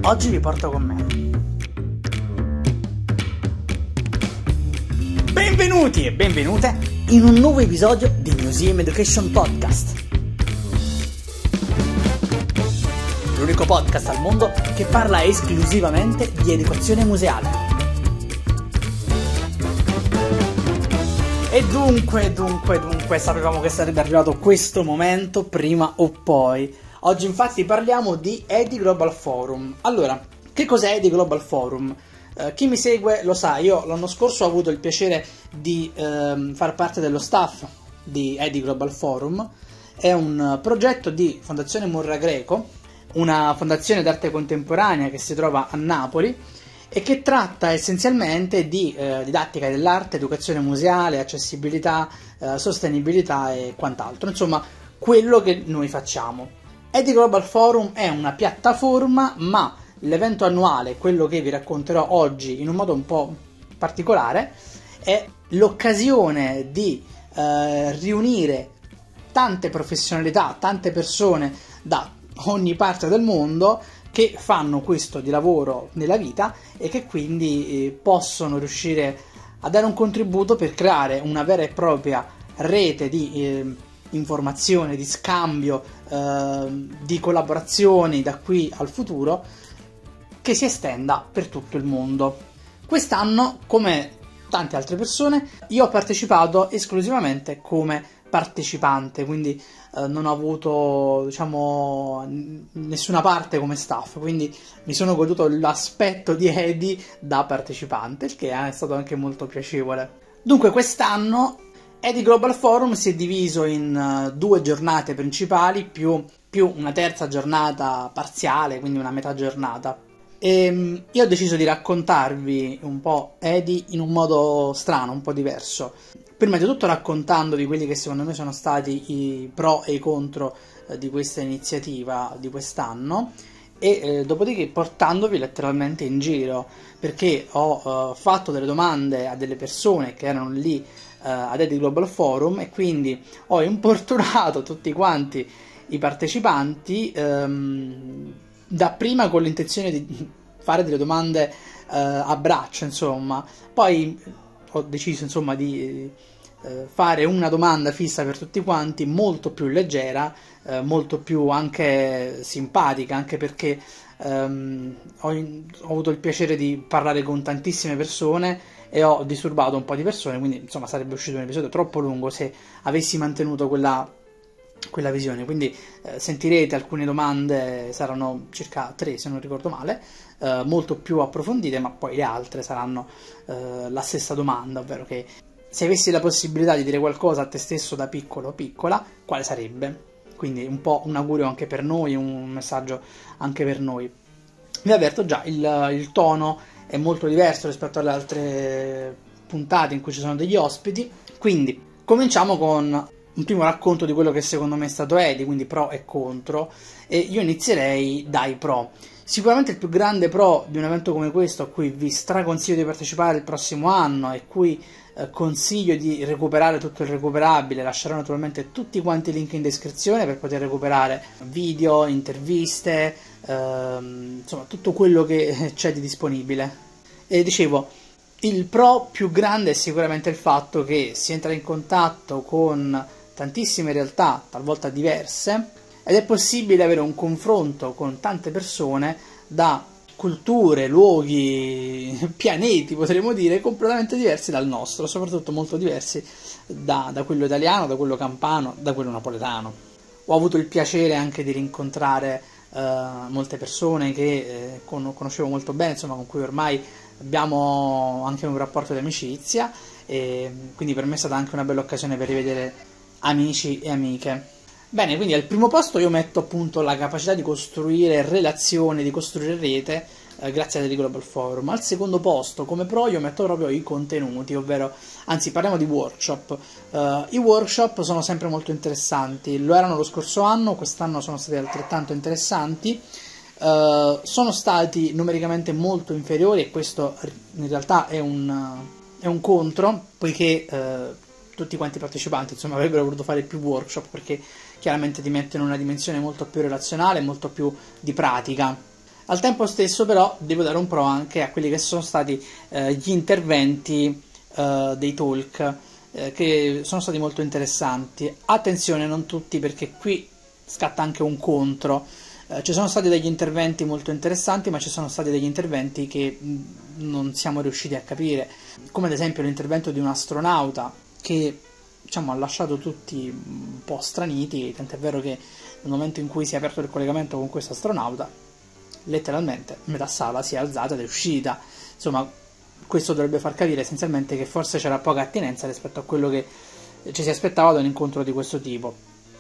Oggi vi porto con me. Benvenuti e benvenute in un nuovo episodio di Museum Education Podcast. L'unico podcast al mondo che parla esclusivamente di educazione museale. E dunque, sapevamo che sarebbe arrivato questo momento prima o poi. Oggi infatti parliamo di EDI Global Forum. Allora, che cos'è EDI Global Forum? Chi mi segue lo sa, io l'anno scorso ho avuto il piacere di far parte dello staff di EDI Global Forum. È un progetto di Fondazione Murra Greco, una fondazione d'arte contemporanea che si trova a Napoli e che tratta essenzialmente di didattica dell'arte, educazione museale, accessibilità, sostenibilità e quant'altro, insomma quello che noi facciamo. EDI Global Forum è una piattaforma, ma l'evento annuale, quello che vi racconterò oggi in un modo un po' particolare, è l'occasione di riunire tante professionalità, tante persone da ogni parte del mondo che fanno questo di lavoro nella vita e che quindi possono riuscire a dare un contributo per creare una vera e propria rete di informazione, di scambio, di collaborazioni da qui al futuro che si estenda per tutto il mondo. Quest'anno, come tante altre persone, io ho partecipato esclusivamente come partecipante, quindi non ho avuto, nessuna parte come staff, quindi mi sono goduto l'aspetto di EDI da partecipante, il che è stato anche molto piacevole. Dunque quest'anno EDI Global Forum si è diviso in 2 giornate principali più una terza giornata parziale, quindi una metà giornata. E io ho deciso di raccontarvi un po' EDI in un modo strano, un po' diverso. Prima di tutto raccontandovi quelli che secondo me sono stati i pro e i contro di questa iniziativa di quest'anno e dopodiché portandovi letteralmente in giro, perché ho fatto delle domande a delle persone che erano lì ad EDI Global Forum e quindi ho importunato tutti quanti i partecipanti dapprima con l'intenzione di fare delle domande a braccio, insomma. Poi ho deciso, insomma, di fare una domanda fissa per tutti quanti, molto più leggera, molto più anche simpatica, anche perché ho avuto il piacere di parlare con tantissime persone e ho disturbato un po' di persone, quindi insomma sarebbe uscito un episodio troppo lungo se avessi mantenuto quella visione, quindi sentirete alcune domande, saranno circa 3 se non ricordo male, molto più approfondite, ma poi le altre saranno la stessa domanda, ovvero che se avessi la possibilità di dire qualcosa a te stesso da piccolo o piccola, quale sarebbe? Quindi un po' un augurio anche per noi, un messaggio anche per noi. Vi avverto già, il tono è molto diverso rispetto alle altre puntate in cui ci sono degli ospiti, quindi cominciamo con un primo racconto di quello che secondo me è stato EDI, quindi pro e contro, e io inizierei dai pro. Sicuramente il più grande pro di un evento come questo, a cui vi straconsiglio di partecipare il prossimo anno e cui consiglio di recuperare tutto il recuperabile, lascerò naturalmente tutti quanti i link in descrizione per poter recuperare video, interviste, insomma tutto quello che c'è di disponibile. E dicevo, il pro più grande è sicuramente il fatto che si entra in contatto con tantissime realtà, talvolta diverse, ed è possibile avere un confronto con tante persone da culture, luoghi, pianeti, potremmo dire, completamente diversi dal nostro, soprattutto molto diversi da quello italiano, da quello campano, da quello napoletano. Ho avuto il piacere anche di rincontrare molte persone che conoscevo molto bene, insomma, con cui ormai abbiamo anche un rapporto di amicizia, e quindi per me è stata anche una bella occasione per rivedere amici e amiche. Bene, quindi al primo posto io metto appunto la capacità di costruire relazioni, di costruire rete grazie a EDI Global Forum. Al secondo posto, come pro, io metto proprio i contenuti, ovvero, anzi parliamo di workshop. I workshop sono sempre molto interessanti, lo erano lo scorso anno, quest'anno sono stati altrettanto interessanti. Sono stati numericamente molto inferiori e questo in realtà è un contro, poiché tutti quanti i partecipanti insomma avrebbero voluto fare più workshop, perché chiaramente ti mettono in una dimensione molto più relazionale, molto più di pratica. Al tempo stesso però devo dare un pro anche a quelli che sono stati gli interventi dei talk, che sono stati molto interessanti. Attenzione, non tutti, perché qui scatta anche un contro. Ci sono stati degli interventi molto interessanti, ma ci sono stati degli interventi che non siamo riusciti a capire, come ad esempio l'intervento di un astronauta che, diciamo, ha lasciato tutti un po' straniti, tant'è vero che nel momento in cui si è aperto il collegamento con questo astronauta, letteralmente metà sala si è alzata ed è uscita. Insomma, questo dovrebbe far capire essenzialmente che forse c'era poca attinenza rispetto a quello che ci si aspettava da un incontro di questo tipo.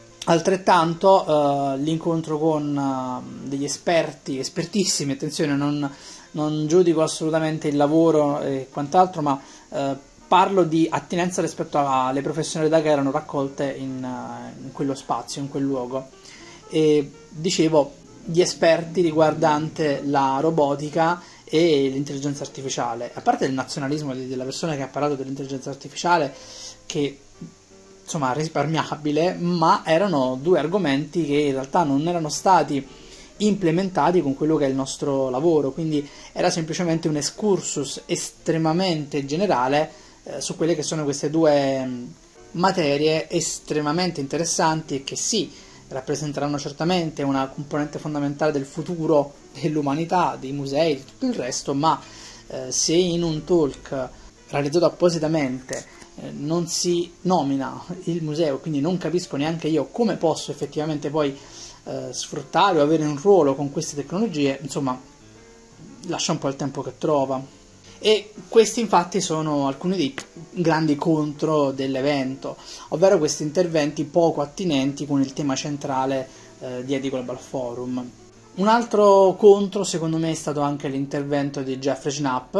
Altrettanto l'incontro con degli esperti, espertissimi, attenzione, non giudico assolutamente il lavoro e quant'altro, ma parlo di attinenza rispetto alle professionalità che erano raccolte in quello spazio, in quel luogo. E dicevo, gli esperti riguardante la robotica e l'intelligenza artificiale, a parte il nazionalismo della persona che ha parlato dell'intelligenza artificiale, che insomma risparmiabile, ma erano due argomenti che in realtà non erano stati implementati con quello che è il nostro lavoro, quindi era semplicemente un excursus estremamente generale su quelle che sono queste due materie estremamente interessanti e che sì, rappresenteranno certamente una componente fondamentale del futuro dell'umanità, dei musei, di tutto il resto, ma se in un talk realizzato appositamente non si nomina il museo, quindi non capisco neanche io come posso effettivamente poi sfruttare o avere un ruolo con queste tecnologie, insomma, lascia un po' il tempo che trova. E questi infatti sono alcuni dei grandi contro dell'evento, ovvero questi interventi poco attinenti con il tema centrale di EDI Global Forum. Un altro contro secondo me è stato anche l'intervento di Jeffrey Schnapp,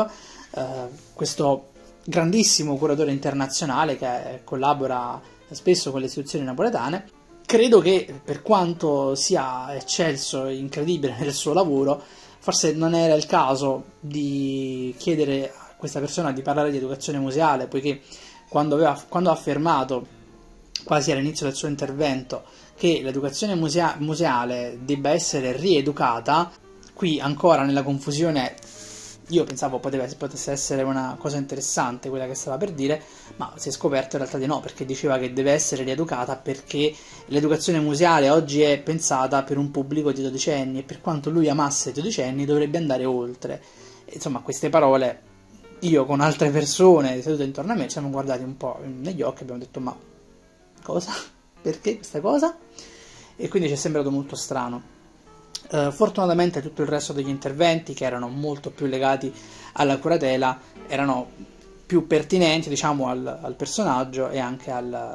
questo grandissimo curatore internazionale che collabora spesso con le istituzioni napoletane. Credo che, per quanto sia eccelso e incredibile nel suo lavoro, forse non era il caso di chiedere a questa persona di parlare di educazione museale, poiché quando ha affermato, quasi all'inizio del suo intervento, che l'educazione museale debba essere rieducata, qui ancora nella confusione. Io pensavo potesse essere una cosa interessante quella che stava per dire, ma si è scoperto in realtà di no, perché diceva che deve essere rieducata perché l'educazione museale oggi è pensata per un pubblico di 12 anni e per quanto lui amasse i 12 anni dovrebbe andare oltre. E, insomma, queste parole, io con altre persone sedute intorno a me ci siamo guardati un po' negli occhi e abbiamo detto: ma cosa? Perché questa cosa? E quindi ci è sembrato molto strano. Fortunatamente tutto il resto degli interventi, che erano molto più legati alla curatela, erano più pertinenti, diciamo, al personaggio e anche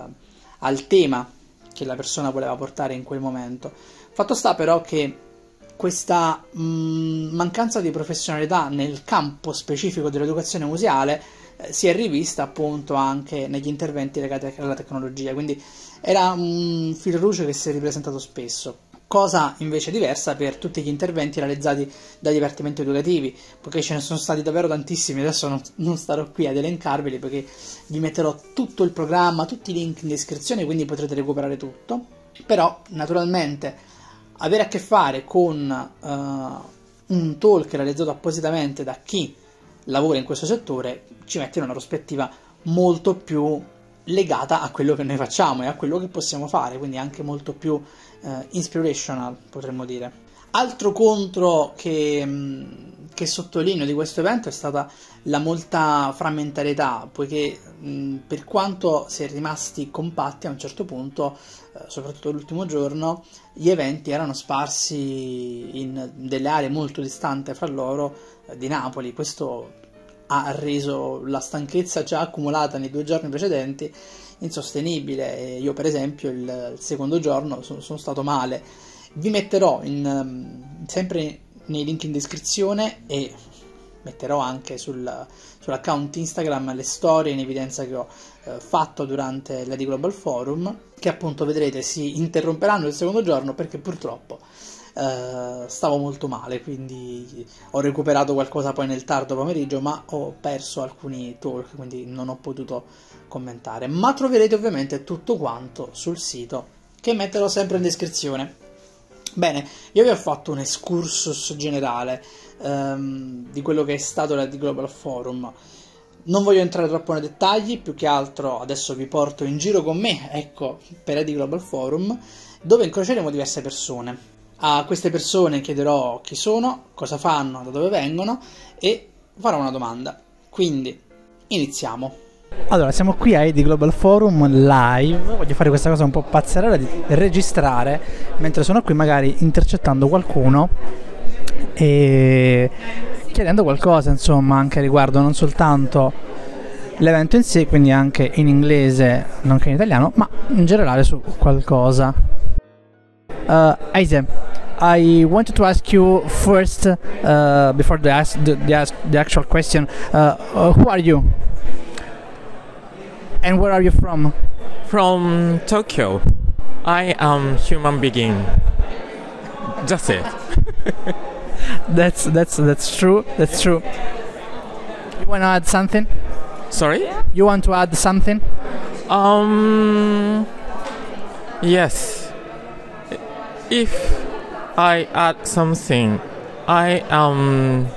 al tema che la persona voleva portare in quel momento. Fatto sta però che questa mancanza di professionalità nel campo specifico dell'educazione museale si è rivista appunto anche negli interventi legati alla tecnologia, quindi era un fil rouge che si è ripresentato spesso. Cosa invece diversa per tutti gli interventi realizzati dai dipartimenti educativi, poiché ce ne sono stati davvero tantissimi. Adesso non starò qui ad elencarveli, perché vi metterò tutto il programma, tutti i link in descrizione, quindi potrete recuperare tutto. Però naturalmente avere a che fare con un talk realizzato appositamente da chi lavora in questo settore ci mette in una prospettiva molto più legata a quello che noi facciamo e a quello che possiamo fare, quindi anche molto più inspirational, potremmo dire. Altro contro che sottolineo di questo evento è stata la molta frammentarietà, poiché per quanto si è rimasti compatti a un certo punto, soprattutto l'ultimo giorno, gli eventi erano sparsi in delle aree molto distanti fra loro di Napoli. Questo ha reso la stanchezza già accumulata nei 2 giorni precedenti insostenibile. E io per esempio il secondo giorno sono stato male. Vi metterò sempre nei link in descrizione e metterò anche sull'account Instagram le storie in evidenza che ho fatto durante l'EDI Global Forum, che appunto vedrete si interromperanno il secondo giorno perché purtroppo stavo molto male, quindi ho recuperato qualcosa poi nel tardo pomeriggio, ma ho perso alcuni talk, quindi non ho potuto commentare. Ma troverete ovviamente tutto quanto sul sito, che metterò sempre in descrizione. Bene, io vi ho fatto un excursus generale di quello che è stato l'ED Global Forum. Non voglio entrare troppo nei dettagli, più che altro adesso vi porto in giro con me, ecco, per ED Global Forum, dove incroceremo diverse persone. A queste persone chiederò chi sono, cosa fanno, da dove vengono e farò una domanda. Quindi, iniziamo. Allora, siamo qui a ED Global Forum live. Voglio fare questa cosa un po' pazzerella di registrare mentre sono qui, magari intercettando qualcuno e chiedendo qualcosa, insomma, anche riguardo non soltanto l'evento in sé, quindi anche in inglese, nonché in italiano, ma in generale su qualcosa. Aise, I wanted to ask you first, before the actual question, who are you? And where are you from? From Tokyo. I am human being. That's it. That's true. That's true. You want to add something? Sorry? You want to add something? Yes. If I add something, I am.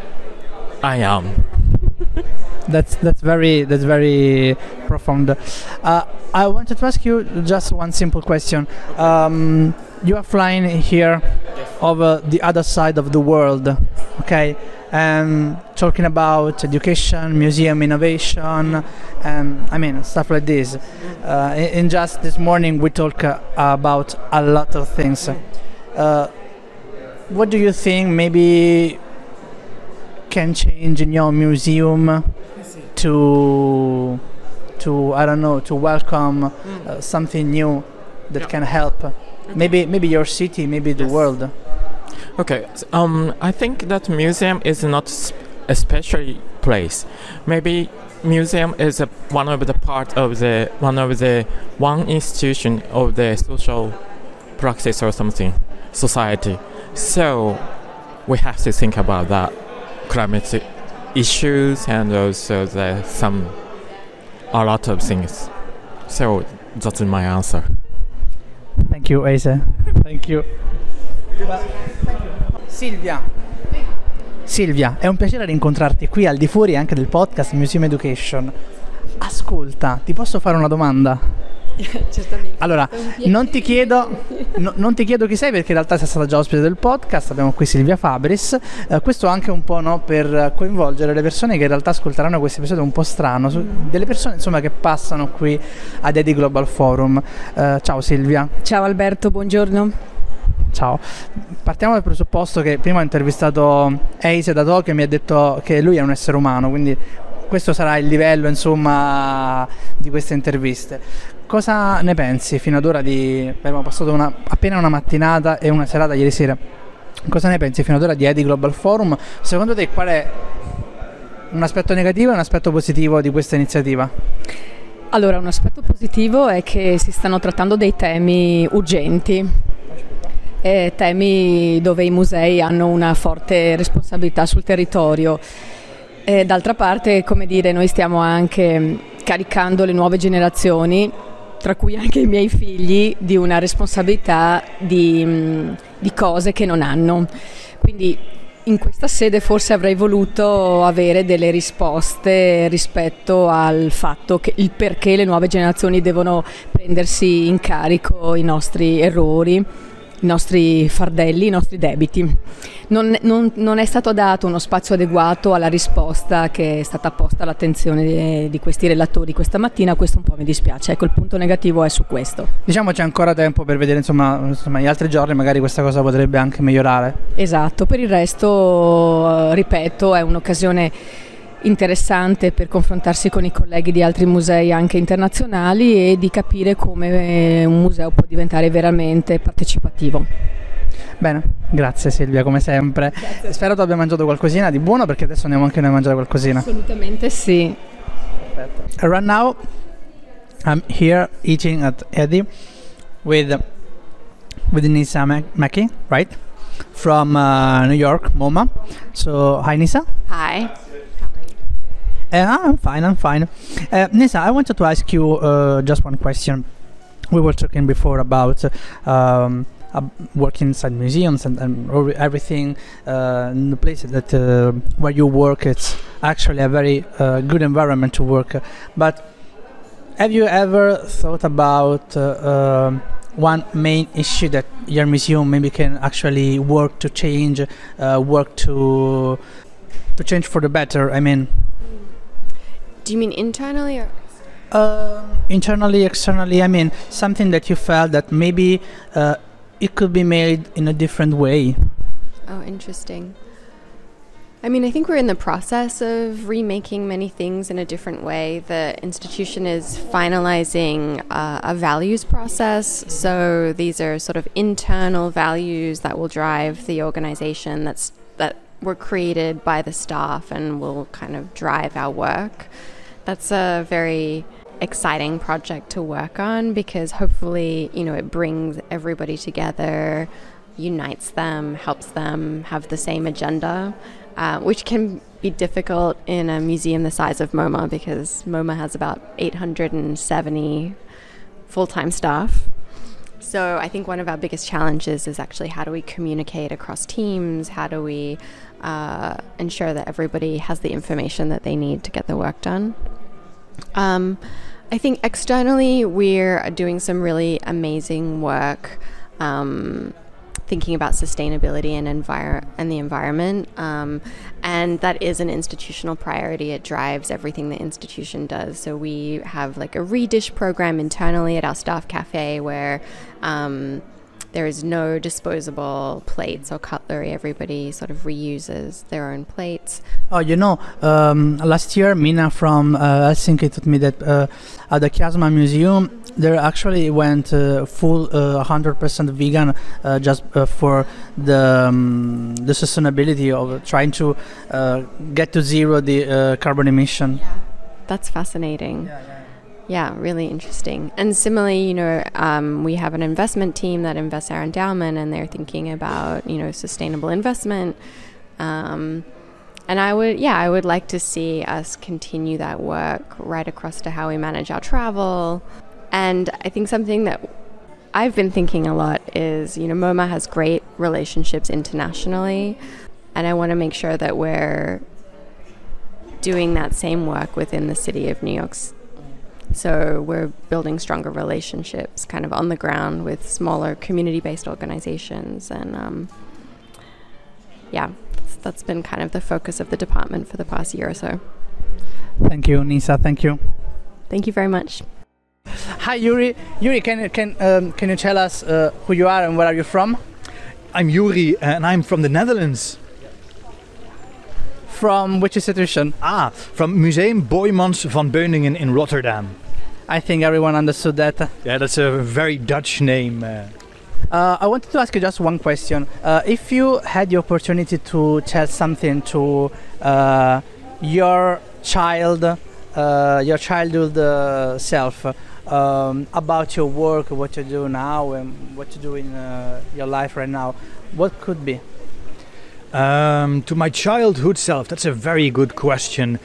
That's very profound. I wanted to ask you just one simple question. You are flying here over the other side of the world, okay? And talking about education, museum innovation, I mean stuff like this. In just this morning we talked about a lot of things. What do you think maybe can change in your museum to I don't know, to welcome something new that can help maybe your city, maybe the world? Okay. I think that museum is not a special place. Maybe museum is one of the part of one institution of the social practice or something, society. So we have to think about that climate issues and also a lot of things. So that's my answer. Thank you, Aise. Thank you. Silvia, è un piacere rincontrarti qui al di fuori anche del podcast Museum Education. Ascolta, ti posso fare una domanda? Certamente. Allora, non ti chiedo chi sei, perché in realtà sei stata già ospite del podcast. Abbiamo qui Silvia Fabris. Questo anche un po', no, per coinvolgere le persone che in realtà ascolteranno questo episodio un po' strano, delle persone insomma che passano qui ad ED Global Forum. Ciao Silvia. Ciao Alberto, buongiorno. Ciao. Partiamo dal presupposto che prima ho intervistato Aise da Tokyo e mi ha detto che lui è un essere umano, quindi questo sarà il livello, insomma, di queste interviste. Cosa ne pensi fino ad ora abbiamo passato appena una mattinata e una serata ieri sera. Cosa ne pensi fino ad ora di ED Global Forum? Secondo te qual è un aspetto negativo e un aspetto positivo di questa iniziativa? Allora, un aspetto positivo è che si stanno trattando dei temi urgenti, temi dove i musei hanno una forte responsabilità sul territorio. D'altra parte, come dire, noi stiamo anche caricando le nuove generazioni, tra cui anche i miei figli, di una responsabilità di cose che non hanno. Quindi in questa sede forse avrei voluto avere delle risposte rispetto al fatto che il perché le nuove generazioni devono prendersi in carico i nostri errori, i nostri fardelli, i nostri debiti. Non è stato dato uno spazio adeguato alla risposta che è stata posta all'attenzione di questi relatori questa mattina. Questo un po' mi dispiace, ecco, il punto negativo è su questo. Diciamo c'è ancora tempo per vedere, insomma gli altri giorni magari questa cosa potrebbe anche migliorare. Esatto, per il resto, ripeto, è un'occasione interessante per confrontarsi con i colleghi di altri musei anche internazionali e di capire come un museo può diventare veramente partecipativo. Bene, grazie Silvia, come sempre. Grazie. Spero tu abbia mangiato qualcosina di buono, perché adesso andiamo anche noi a mangiare qualcosina. Assolutamente sì. Perfetto. Right now I'm here eating at ED with Nisa Maki, right? From New York, MoMA. So, hi Nisa. Hi. I'm fine. Nisa, I wanted to ask you just one question. We were talking before about working inside museums and everything in the place that where you work, it's actually a very good environment to work. But have you ever thought about one main issue that your museum maybe can actually work to change, work to change for the better? I mean, do you mean internally or? Internally, externally. I mean, something that you felt that maybe it could be made in a different way. Oh, interesting. I mean, I think we're in the process of remaking many things in a different way. The institution is finalizing a values process. So these are sort of internal values that will drive the organization that were created by the staff and will kind of drive our work. That's a very exciting project to work on because hopefully, it brings everybody together, unites them, helps them have the same agenda, which can be difficult in a museum the size of MoMA because MoMA has about 870 full-time staff. So I think one of our biggest challenges is actually how do we communicate across teams? How do we ensure that everybody has the information that they need to get the work done? I think externally we're doing some really amazing work thinking about sustainability and the environment, and that is an institutional priority. It drives everything the institution does. So we have like a redish program internally at our staff cafe where there is no disposable plates or cutlery. Everybody sort of reuses their own plates. Oh, last year Mina from Helsinki told me that at the Kiasma Museum they actually went full 100% vegan just for the sustainability of trying to get to zero the carbon emission. Yeah, that's fascinating. Yeah, really interesting. And similarly, we have an investment team that invests our endowment, and they're thinking about, sustainable investment. And I would like to see us continue that work right across to how we manage our travel. And I think something that I've been thinking a lot is, MoMA has great relationships internationally, and I want to make sure that we're doing that same work within the city of New York. So we're building stronger relationships kind of on the ground with smaller community-based organizations. And that's been kind of the focus of the department for the past year or so. Thank you, Nisa. Thank you. Thank you very much. Hi, Yuri. Yuri, can you tell us who you are and where are you from? I'm Yuri and I'm from the Netherlands. From which institution? From Museum Boijmans van Beuningen in Rotterdam. I think everyone understood that. Yeah, that's a very Dutch name. I wanted to ask you just one question. If you had the opportunity to tell something to your childhood self about your work, what you do now, and what you do in your life right now, what could be? To my childhood self, that's a very good question.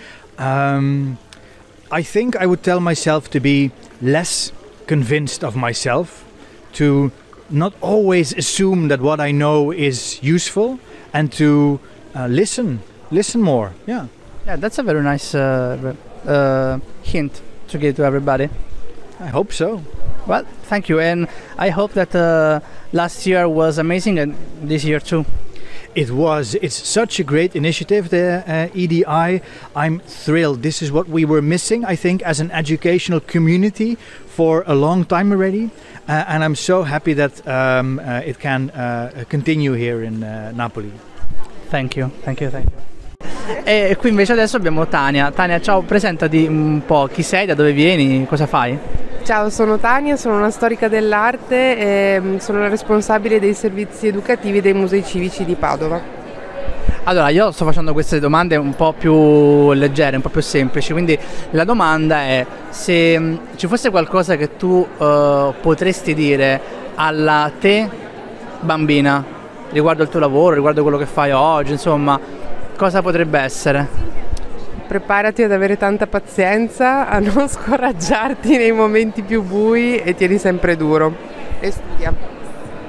I think I would tell myself to be less convinced of myself, to not always assume that what I know is useful, and to listen more. Yeah, that's a very nice hint to give to everybody. I hope so. Well, thank you, and I hope that last year was amazing and this year too. It was. It's such a great initiative, the EDI. I'm thrilled. This is what we were missing, I think, as an educational community for a long time already. And I'm so happy that it can continue here in Napoli. Thank you. E qui invece adesso abbiamo Tania. Tania, ciao, presentati un po'. Chi sei, da dove vieni, cosa fai? Ciao, sono Tania, sono una storica dell'arte e sono la responsabile dei servizi educativi dei musei civici di Padova. Allora, io sto facendo queste domande un po' più leggere, un po' più semplici, quindi la domanda è se ci fosse qualcosa che tu potresti dire alla te bambina riguardo il tuo lavoro, riguardo quello che fai oggi, insomma, cosa potrebbe essere? Preparati ad avere tanta pazienza, a non scoraggiarti nei momenti più bui e tieni sempre duro. E studia.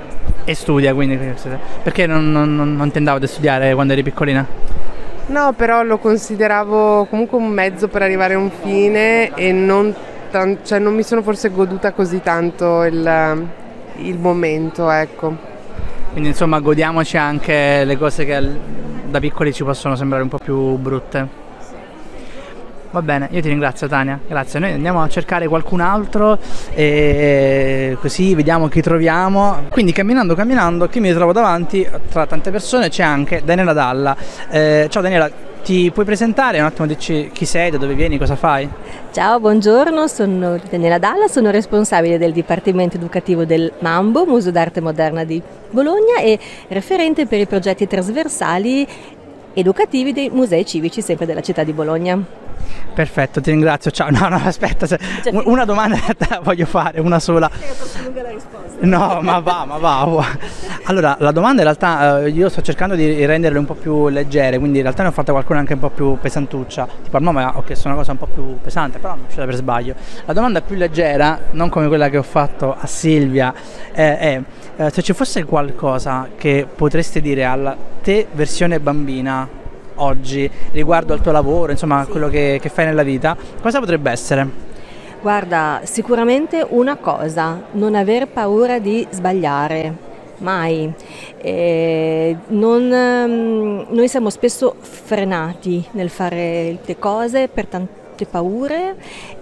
E studia, quindi perché non ti andavo a studiare quando eri piccolina? No, però lo consideravo comunque un mezzo per arrivare a un fine e cioè non mi sono forse goduta così tanto il momento, ecco. Quindi insomma godiamoci anche le cose che da piccoli ci possono sembrare un po' più brutte. Va bene, io ti ringrazio Tania, grazie. Noi andiamo a cercare qualcun altro e così vediamo chi troviamo. Quindi camminando, qui mi trovo davanti tra tante persone c'è anche Daniela Dalla. Ciao Daniela, ti puoi presentare? Un attimo dici chi sei, da dove vieni, cosa fai? Ciao, buongiorno, sono Daniela Dalla, sono responsabile del Dipartimento Educativo del Mambo, Museo d'Arte Moderna di Bologna e referente per i progetti trasversali educativi dei musei civici sempre della città di Bologna. Perfetto, ti ringrazio. Ciao. No, aspetta, una domanda te la voglio fare, una sola. È troppo lunga la risposta. No, ma va. Allora, la domanda in realtà io sto cercando di renderle un po' più leggere, quindi in realtà ne ho fatta qualcuna anche un po' più pesantuccia. Tipo al nome ho chiesto una cosa un po' più pesante, però non è uscita per sbaglio. La domanda più leggera, non come quella che ho fatto a Silvia, è se ci fosse qualcosa che potresti dire alla te versione bambina oggi riguardo al tuo lavoro, insomma, sì, quello che fai nella vita, cosa potrebbe essere? Guarda, sicuramente una cosa, non aver paura di sbagliare, mai. Noi siamo spesso frenati nel fare le cose per tante paure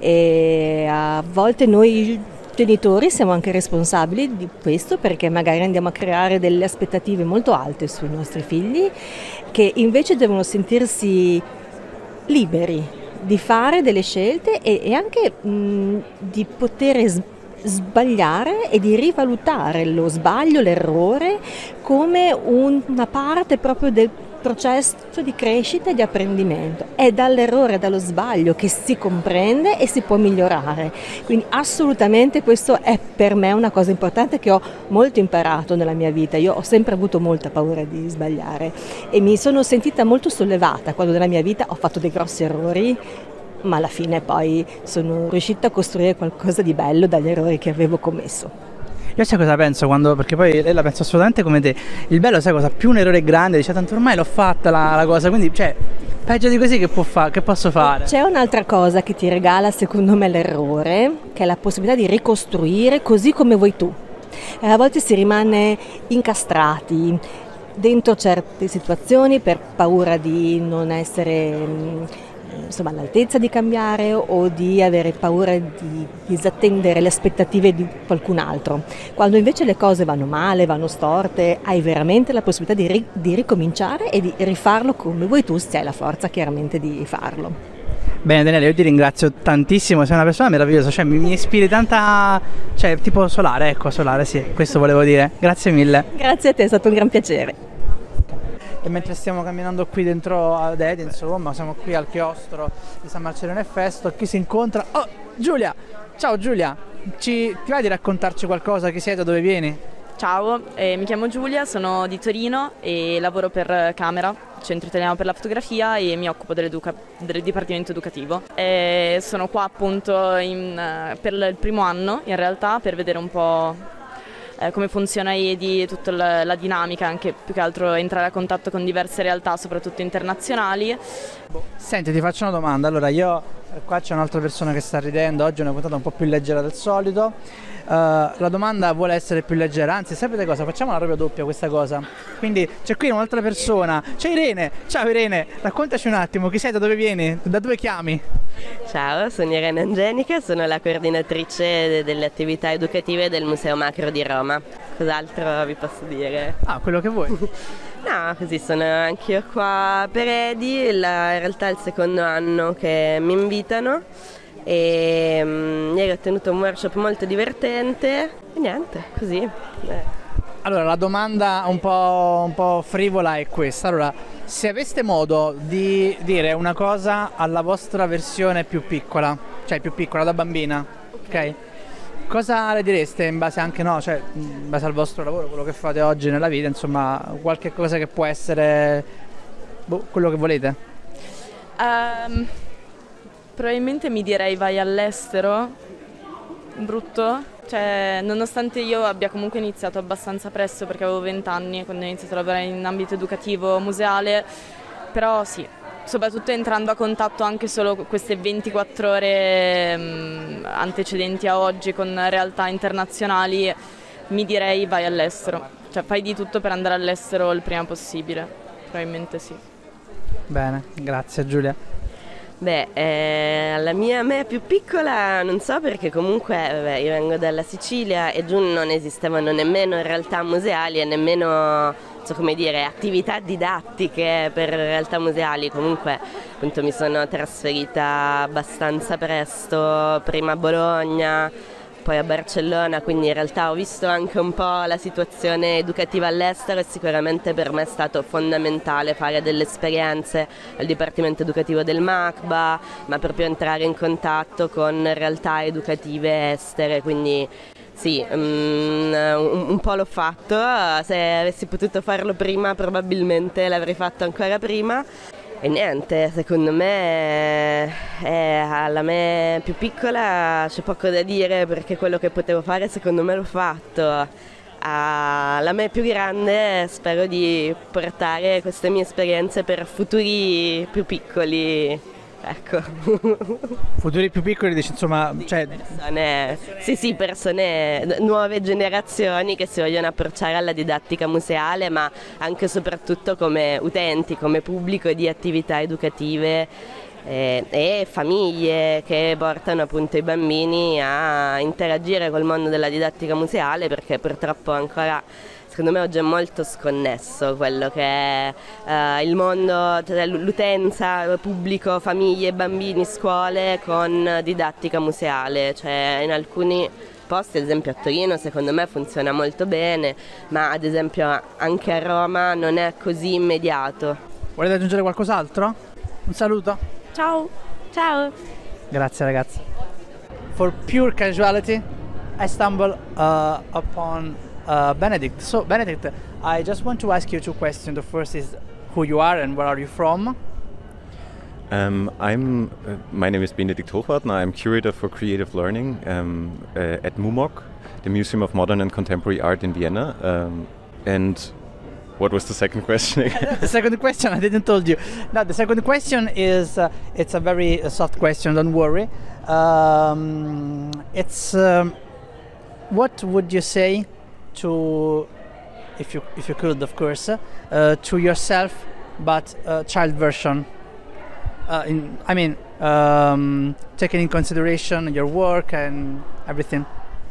e a volte noi genitori siamo anche responsabili di questo perché magari andiamo a creare delle aspettative molto alte sui nostri figli che invece devono sentirsi liberi di fare delle scelte e anche di poter sbagliare e di rivalutare lo sbaglio, l'errore come una parte proprio del processo di crescita e di apprendimento. È dall'errore, dallo sbaglio che si comprende e si può migliorare. Quindi assolutamente questo è per me una cosa importante che ho molto imparato nella mia vita. Io ho sempre avuto molta paura di sbagliare e mi sono sentita molto sollevata quando nella mia vita ho fatto dei grossi errori, ma alla fine poi sono riuscita a costruire qualcosa di bello dagli errori che avevo commesso. Io sai cosa penso perché poi lei la penso assolutamente come te, il bello sai cosa, più un errore è grande, dice tanto ormai l'ho fatta la cosa, quindi cioè peggio di così che posso fare? C'è un'altra cosa che ti regala secondo me l'errore, che è la possibilità di ricostruire così come vuoi tu. E a volte si rimane incastrati dentro certe situazioni per paura di non essere all'altezza di cambiare o di avere paura di disattendere le aspettative di qualcun altro. Quando invece le cose vanno male, vanno storte, hai veramente la possibilità di ricominciare e di rifarlo come vuoi tu, se hai la forza chiaramente di farlo. Bene Daniele, io ti ringrazio tantissimo, sei una persona meravigliosa, cioè mi ispiri tanta, cioè tipo solare, sì, questo volevo dire. Grazie mille. Grazie a te, è stato un gran piacere. E mentre stiamo camminando qui dentro ad Edi, insomma, siamo qui al chiostro di San Marcello e Festo, chi si incontra? Oh, Giulia! Ciao Giulia! Ti vai di raccontarci qualcosa? Chi sei, da dove vieni? Ciao, mi chiamo Giulia, sono di Torino e lavoro per Camera, Centro Italiano per la Fotografia, e mi occupo del Dipartimento Educativo. Sono qua appunto per il primo anno, in realtà, per vedere un po' come funziona EDI, tutta la dinamica, anche più che altro entrare a contatto con diverse realtà, soprattutto internazionali. Senti, ti faccio una domanda. Allora, qua c'è un'altra persona che sta ridendo, oggi è una puntata un po' più leggera del solito. La domanda vuole essere più leggera, anzi sapete cosa? Facciamola proprio doppia questa cosa. Quindi c'è qui un'altra persona, c'è Irene. Ciao Irene, raccontaci un attimo, chi sei, da dove vieni, da dove chiami? Ciao, sono Irene Angenica, sono la coordinatrice delle attività educative del Museo Macro di Roma. Cos'altro vi posso dire? Quello che vuoi. No, così sono anch'io qua per Edi, in realtà è il secondo anno che mi invitano e ieri ho tenuto un workshop molto divertente e niente, così. Allora, la domanda un po' frivola è questa. Allora, se aveste modo di dire una cosa alla vostra versione più piccola, cioè più piccola da bambina, ok? Cosa le direste in base anche, in base al vostro lavoro, quello che fate oggi nella vita, insomma, qualche cosa che può essere quello che volete? Probabilmente mi direi vai all'estero, brutto, Cioè, nonostante io abbia comunque iniziato abbastanza presto, perché avevo 20 anni quando ho iniziato a lavorare in ambito educativo museale, però sì, soprattutto entrando a contatto anche solo queste 24 ore antecedenti a oggi con realtà internazionali, mi direi vai all'estero, cioè fai di tutto per andare all'estero il prima possibile, probabilmente sì. Bene, grazie Giulia. Beh, la mia me più piccola non so, perché comunque io vengo dalla Sicilia e giù non esistevano nemmeno realtà museali e nemmeno, so come dire, attività didattiche per realtà museali. Comunque appunto mi sono trasferita abbastanza presto, prima a Bologna, poi a Barcellona, quindi in realtà ho visto anche un po' la situazione educativa all'estero e sicuramente per me è stato fondamentale fare delle esperienze al Dipartimento Educativo del MACBA, ma proprio entrare in contatto con realtà educative estere, quindi sì, un po' l'ho fatto, se avessi potuto farlo prima probabilmente l'avrei fatto ancora prima. E niente, secondo me alla me più piccola c'è poco da dire, perché quello che potevo fare secondo me l'ho fatto. Alla me più grande spero di portare queste mie esperienze per futuri più piccoli. Ecco. Futuri più piccoli, dici, insomma, cioè... persone, nuove generazioni che si vogliono approcciare alla didattica museale, ma anche e soprattutto come utenti, come pubblico di attività educative e famiglie che portano appunto i bambini a interagire col mondo della didattica museale, perché purtroppo ancora, secondo me, oggi è molto sconnesso quello che è il mondo, cioè l'utenza, pubblico, famiglie, bambini, scuole con didattica museale. Cioè in alcuni posti, ad esempio a Torino, secondo me funziona molto bene, ma ad esempio anche a Roma non è così immediato. Volete aggiungere qualcos'altro? Un saluto? Ciao. Ciao. Grazie ragazzi. For pure casuality, I stumble upon Benedict. So Benedict, I just want to ask you two questions. The first is who you are and where are you from? My name is Benedikt Hochwartner. I'm curator for creative learning at MUMOC, the Museum of Modern and Contemporary Art in Vienna. And what was the second question again? The second question, I didn't told you. No, the second question is, it's a very soft question, don't worry. What would you say to, if you could, of course, to yourself, but child version? Taking in consideration your work and everything.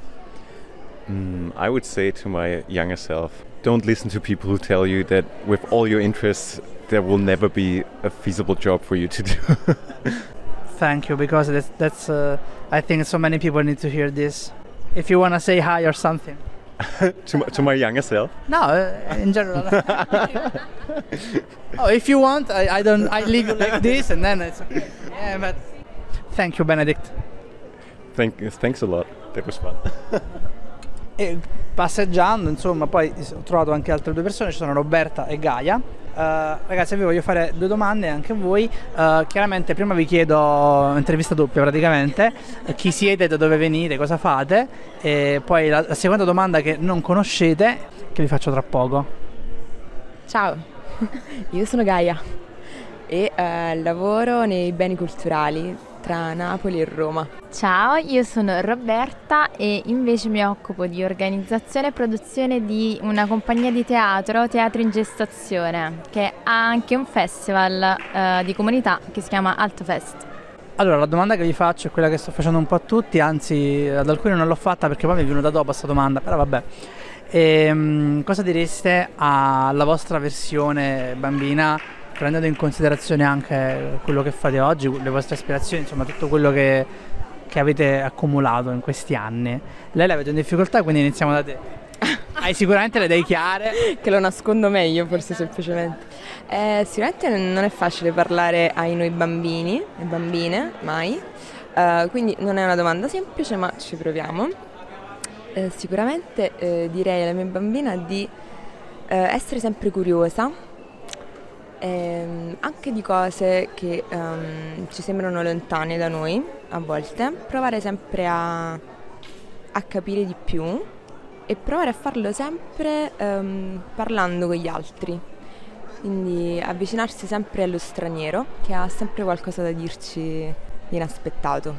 I would say to my younger self, don't listen to people who tell you that with all your interests there will never be a feasible job for you to do. Thank you, because that's I think so many people need to hear this. If you want to say hi or something. to my younger self? No, in general. Oh, if you want, I leave you like this and then it's okay. Yeah, but thank you, Benedict. Thanks a lot. That was fun. E passeggiando, insomma, poi ho trovato anche altre due persone, ci sono Roberta e Gaia. Ragazzi, vi voglio fare due domande anche a voi. Chiaramente prima vi chiedo, intervista doppia praticamente, chi siete, da dove venite, cosa fate, e poi la seconda domanda che non conoscete, che vi faccio tra poco. Ciao, io sono Gaia e lavoro nei beni culturali tra Napoli e Roma. Ciao, io sono Roberta e invece mi occupo di organizzazione e produzione di una compagnia di teatro in gestazione, che ha anche un festival di comunità che si chiama Altfest. Allora, la domanda che vi faccio è quella che sto facendo un po' a tutti, anzi ad alcuni non l'ho fatta perché poi mi è venuta dopo questa domanda, però vabbè. Cosa direste alla vostra versione bambina, prendendo in considerazione anche quello che fate oggi, le vostre aspirazioni, insomma tutto quello che avete accumulato in questi anni? Lei la vedo in difficoltà, quindi iniziamo da te. Hai sicuramente le idee chiare? Che lo nascondo meglio, forse, semplicemente. Sicuramente non è facile parlare ai noi bambini e bambine, mai. Quindi non è una domanda semplice, ma ci proviamo. Sicuramente direi alla mia bambina di essere sempre curiosa, anche di cose che ci sembrano lontane da noi a volte, provare sempre a a capire di più e provare a farlo sempre parlando con gli altri. Quindi avvicinarsi sempre allo straniero che ha sempre qualcosa da dirci di inaspettato.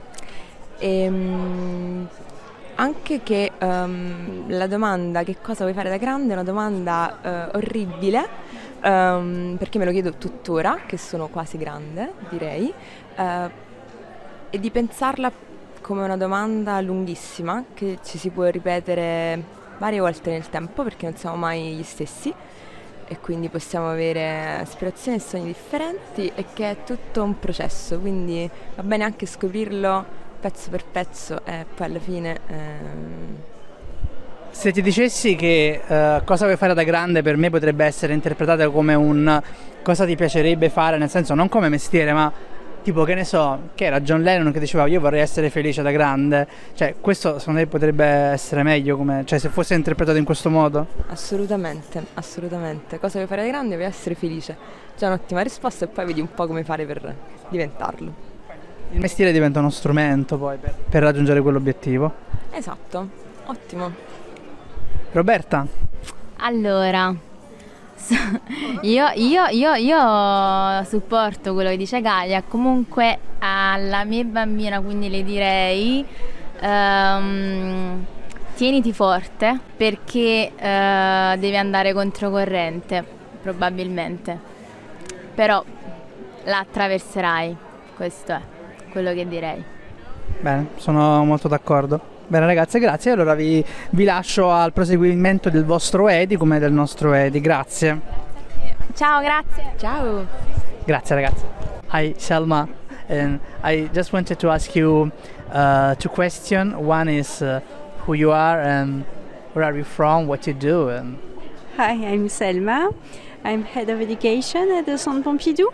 Anche che la domanda che cosa vuoi fare da grande è una domanda orribile, perché me lo chiedo tuttora, che sono quasi grande, direi, e di pensarla come una domanda lunghissima che ci si può ripetere varie volte nel tempo, perché non siamo mai gli stessi e quindi possiamo avere aspirazioni e sogni differenti, e che è tutto un processo, quindi va bene anche scoprirlo pezzo per pezzo e poi alla fine... Se ti dicessi che cosa vuoi fare da grande, per me potrebbe essere interpretata come un cosa ti piacerebbe fare, nel senso non come mestiere, ma tipo, che ne so, che era John Lennon che diceva io vorrei essere felice da grande, cioè questo secondo me potrebbe essere meglio, come, cioè se fosse interpretato in questo modo? Assolutamente, assolutamente. Cosa vuoi fare da grande? Vuoi essere felice. C'è un'ottima risposta e poi vedi un po' come fare per diventarlo. Il mestiere diventa uno strumento poi per raggiungere quell'obiettivo. Esatto, ottimo. Roberta? Allora, io supporto quello che dice Gaia. Comunque alla mia bambina, quindi le direi tieniti forte, perché devi andare controcorrente probabilmente, però la attraverserai, questo è quello che direi. Bene, sono molto d'accordo. Bene ragazze, grazie. Allora vi lascio al proseguimento del vostro Edi come del nostro Edi. Grazie. Ciao, grazie. Ciao. Grazie ragazzi. Hi Selma, and I just wanted to ask you two questions. One is who you are and where are you from, what you do. And... Hi, I'm Selma. I'm head of education at the Centre Pompidou.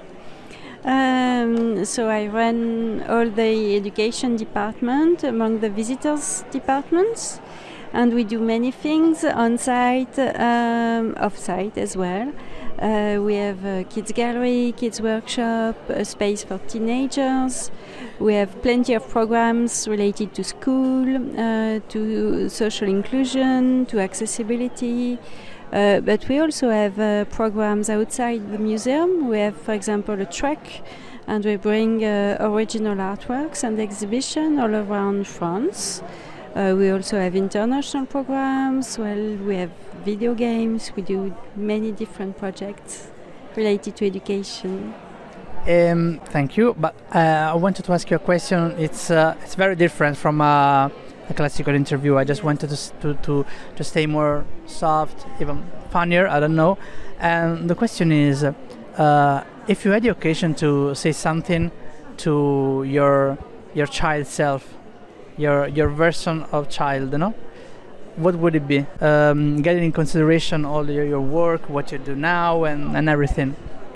So I run all the education department among the visitors departments, and we do many things on site, off site as well. We have a kids gallery, kids workshop, a space for teenagers. We have plenty of programs related to school, to social inclusion, to accessibility. But we also have programs outside the museum. We have, for example, a trek, and we bring original artworks and exhibition all around France. We also have international programs. Well, we have video games. We do many different projects related to education. Thank you. But I wanted to ask you a question. It's very different from a classical interview. I just wanted to stay more soft, even funnier, I don't know. And the question is, if you had the occasion to say something to your child self, your version of child, you know, what would it be? Getting in consideration all your work, what you do now, and everything.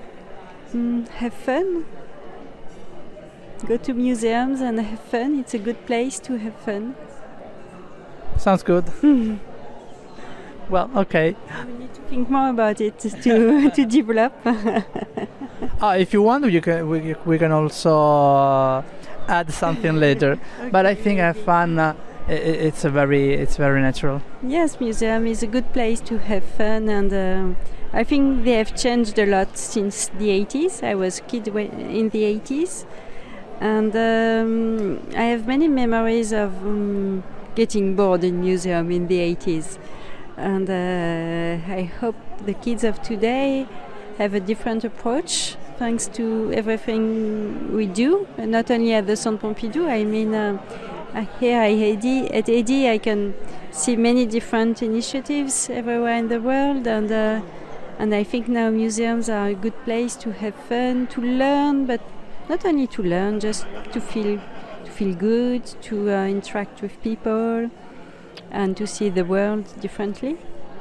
Have fun. Go to museums and have fun. It's a good place to have fun. Sounds good. Well, okay. We need to think more about it to develop. If you want, we can also add something later. Okay. But I think I have fun. It's very natural. Yes, museum is a good place to have fun, and I think they have changed a lot since the 80s. I was a kid in the 80s, and I have many memories of getting bored in museum in the 80s, and I hope the kids of today have a different approach thanks to everything we do, and not only at the Centre Pompidou. I mean, here at EDI I can see many different initiatives everywhere in the world, and I think now museums are a good place to have fun, to learn, but not only to learn, just to feel good, to interact with people, and to see the world differently.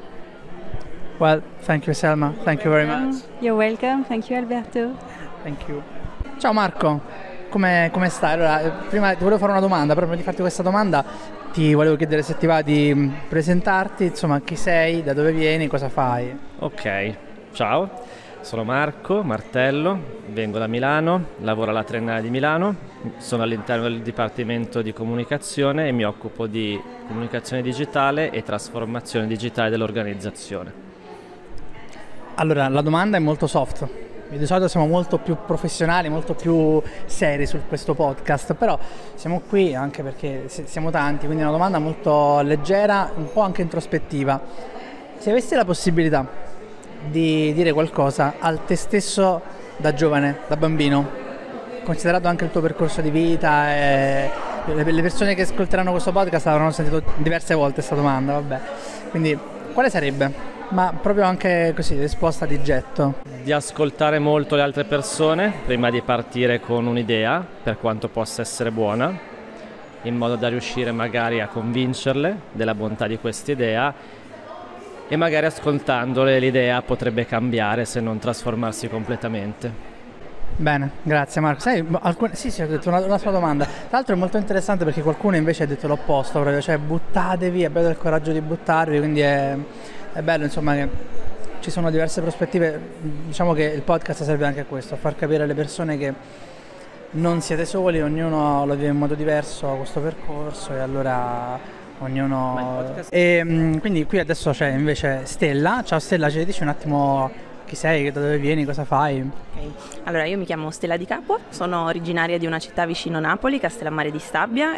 Well, thank you Selma, thank you very much. You're welcome, thank you Alberto. Thank you. Ciao Marco, come stai? Allora, prima ti volevo fare una domanda, però prima di farti questa domanda ti volevo chiedere se ti va di presentarti, insomma, chi sei, da dove vieni, cosa fai. Ok, ciao. Sono Marco Martello, vengo da Milano, lavoro alla Triennale di Milano, sono all'interno del Dipartimento di Comunicazione e mi occupo di comunicazione digitale e trasformazione digitale dell'organizzazione. Allora, la domanda è molto soft. Di solito siamo molto più professionali, molto più seri su questo podcast, però siamo qui anche perché siamo tanti, quindi è una domanda molto leggera, un po' anche introspettiva. Se avessi la possibilità di dire qualcosa al te stesso da giovane, da bambino, considerato anche il tuo percorso di vita e le persone che ascolteranno questo podcast avranno sentito diverse volte questa domanda, vabbè. Quindi quale sarebbe? Ma proprio anche così, risposta di getto. Di ascoltare molto le altre persone prima di partire con un'idea, per quanto possa essere buona, in modo da riuscire magari a convincerle della bontà di questa idea, e magari ascoltandole l'idea potrebbe cambiare se non trasformarsi completamente. Bene, grazie Marco. Sai, sì, ho detto una sua domanda. Tra l'altro è molto interessante perché qualcuno invece ha detto l'opposto, proprio, cioè buttatevi, abbiate il coraggio di buttarvi, quindi è bello insomma che ci sono diverse prospettive. Diciamo che il podcast serve anche a questo, a far capire alle persone che non siete soli, ognuno lo vive in modo diverso questo percorso e allora ognuno. E quindi qui adesso c'è invece Stella. Ciao Stella, ci dici un attimo chi sei, da dove vieni, cosa fai? Okay. Allora, io mi chiamo Stella Di Capua, sono originaria di una città vicino Napoli, Castellammare di Stabia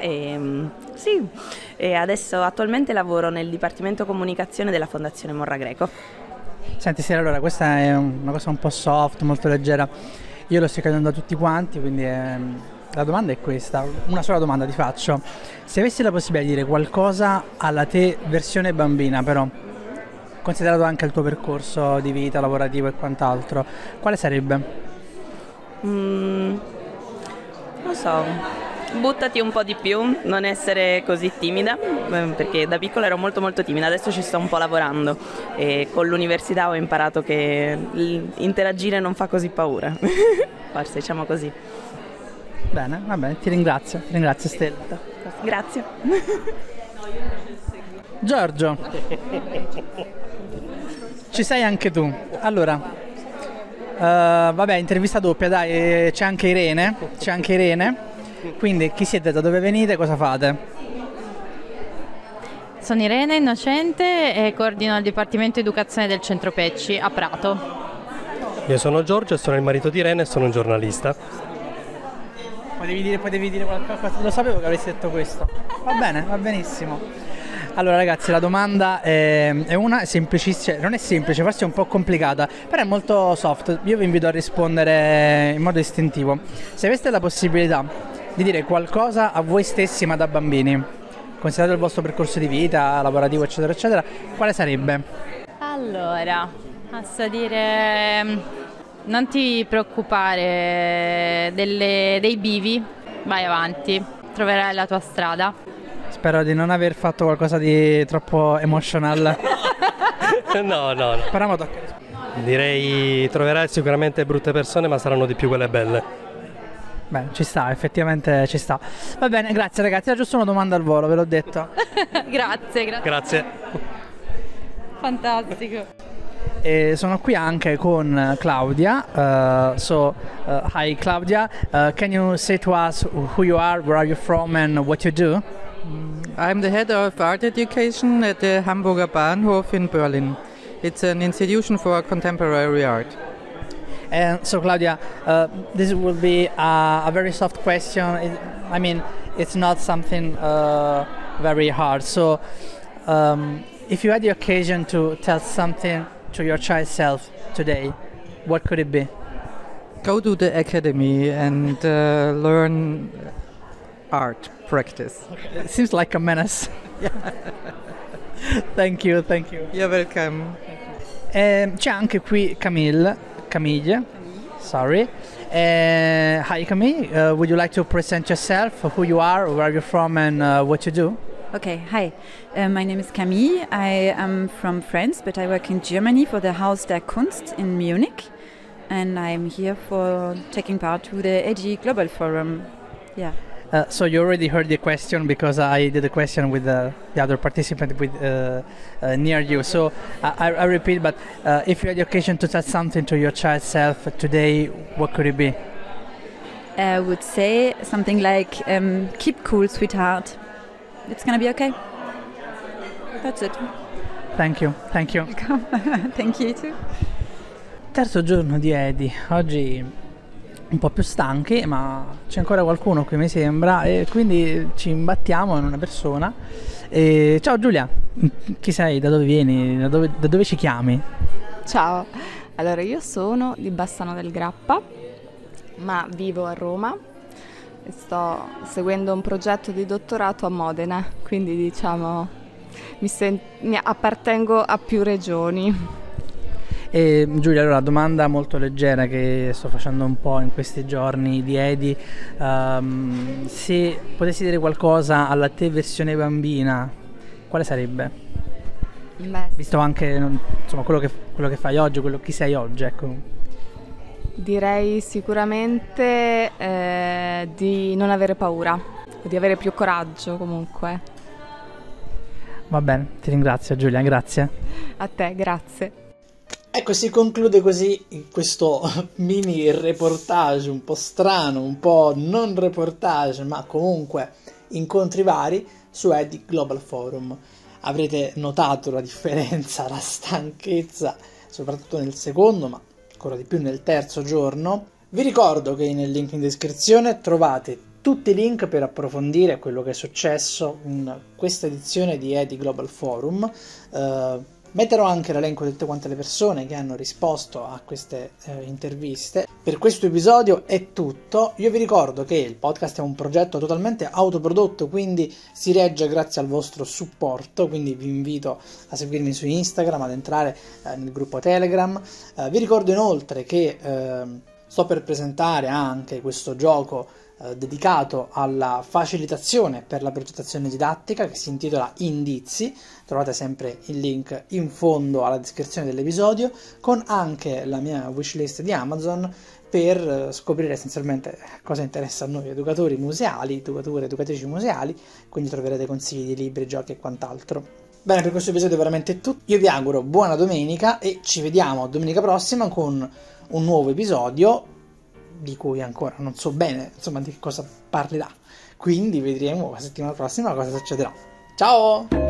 e adesso attualmente lavoro nel Dipartimento Comunicazione della Fondazione Morra Greco. Senti Stella, allora questa è una cosa un po' soft, molto leggera, io lo sto chiedendo a tutti quanti, quindi la domanda è questa, una sola domanda ti faccio: se avessi la possibilità di dire qualcosa alla te versione bambina, però considerato anche il tuo percorso di vita lavorativo e quant'altro, quale sarebbe? Non so, buttati un po' di più, non essere così timida, perché da piccola ero molto molto timida, adesso ci sto un po' lavorando e con l'università ho imparato che interagire non fa così paura, forse diciamo così. Bene, va bene, ti ringrazio Stella. Grazie. Giorgio, ci sei anche tu. Allora, vabbè, intervista doppia, dai, c'è anche Irene. Quindi chi siete, da dove venite, cosa fate? Sono Irene Innocente e coordino il Dipartimento Educazione del Centro Pecci a Prato. Io sono Giorgio, sono il marito di Irene e sono un giornalista. Potevi dire qualcosa, lo sapevo che avresti detto questo. Va bene, va benissimo. Allora ragazzi, la domanda è una semplicissima, non è semplice, forse è un po' complicata, però è molto soft. Io vi invito a rispondere in modo istintivo. Se aveste la possibilità di dire qualcosa a voi stessi ma da bambini, considerato il vostro percorso di vita, lavorativo eccetera eccetera, quale sarebbe? Allora, posso dire non ti preoccupare dei bivi, vai avanti, troverai la tua strada. Spero di non aver fatto qualcosa di troppo emotional. No. Però mo tocca. Direi troverai sicuramente brutte persone, ma saranno di più quelle belle. Beh, ci sta, effettivamente ci sta. Va bene, grazie ragazzi, era giusto una domanda al volo, ve l'ho detto. Grazie. Fantastico. E sono qui anche con Claudia. Hi Claudia, can you say to us who you are, where are you from and what you do? I'm the head of art education at the Hamburger Bahnhof in Berlin. It's an institution for contemporary art. And so Claudia, this will be a very soft question. I mean, it's not something very hard. So if you had the occasion to tell something to your child self today, what could it be? Go to the academy and learn art practice. It seems like a menace. Thank you. You're welcome. C'è anche qui Camille. Sorry. Hi Camille, would you like to present yourself, who you are, where you're from and what you do? Okay, hi. My name is Camille. I am from France, but I work in Germany for the Haus der Kunst in Munich. And I'm here for taking part to the AG Global Forum. Yeah. So you already heard the question because I did a question with the other participant with near you. So I repeat, but if you had the occasion to tell something to your child self today, what could it be? I would say something like, keep cool, sweetheart. It's gonna be okay. That's it. Thank you. Thank you. Thank you too. Terzo giorno di Edi. Oggi un po' più stanchi, ma c'è ancora qualcuno qui mi sembra, e quindi ci imbattiamo in una persona. Ciao Giulia, chi sei? Da dove vieni? Da dove ci chiami? Ciao, allora io sono di Bassano del Grappa, ma vivo a Roma e sto seguendo un progetto di dottorato a Modena, quindi diciamo mi appartengo a più regioni. E Giulia, allora, domanda molto leggera che sto facendo un po' in questi giorni di Edi, se potessi dire qualcosa alla te versione bambina, quale sarebbe? Beh, visto anche insomma quello che fai oggi, chi sei oggi, ecco. Direi sicuramente di non avere paura, di avere più coraggio comunque. Va bene, ti ringrazio Giulia, grazie. A te, grazie. Ecco, si conclude così questo mini reportage un po' strano, un po' non reportage, ma comunque incontri vari su Edi Global Forum. Avrete notato la differenza, la stanchezza, soprattutto nel secondo, ma ancora di più nel terzo giorno. Vi ricordo che nel link in descrizione trovate tutti i link per approfondire quello che è successo in questa edizione di Edi Global Forum. Metterò anche l'elenco di tutte quante le persone che hanno risposto a queste interviste. Per questo episodio è tutto. Io vi ricordo che il podcast è un progetto totalmente autoprodotto, quindi si regge grazie al vostro supporto, quindi vi invito a seguirmi su Instagram, ad entrare nel gruppo Telegram. Vi ricordo inoltre che sto per presentare anche questo gioco dedicato alla facilitazione per la progettazione didattica che si intitola Indizi. Trovate sempre il link in fondo alla descrizione dell'episodio, con anche la mia wishlist di Amazon per scoprire essenzialmente cosa interessa a noi educatori museali, educatrici museali, quindi troverete consigli di libri, giochi e quant'altro. Bene, per questo episodio è veramente tutto. Io vi auguro buona domenica e ci vediamo domenica prossima con un nuovo episodio di cui ancora non so bene insomma di cosa parlerà, quindi vedremo la settimana prossima cosa succederà. Ciao!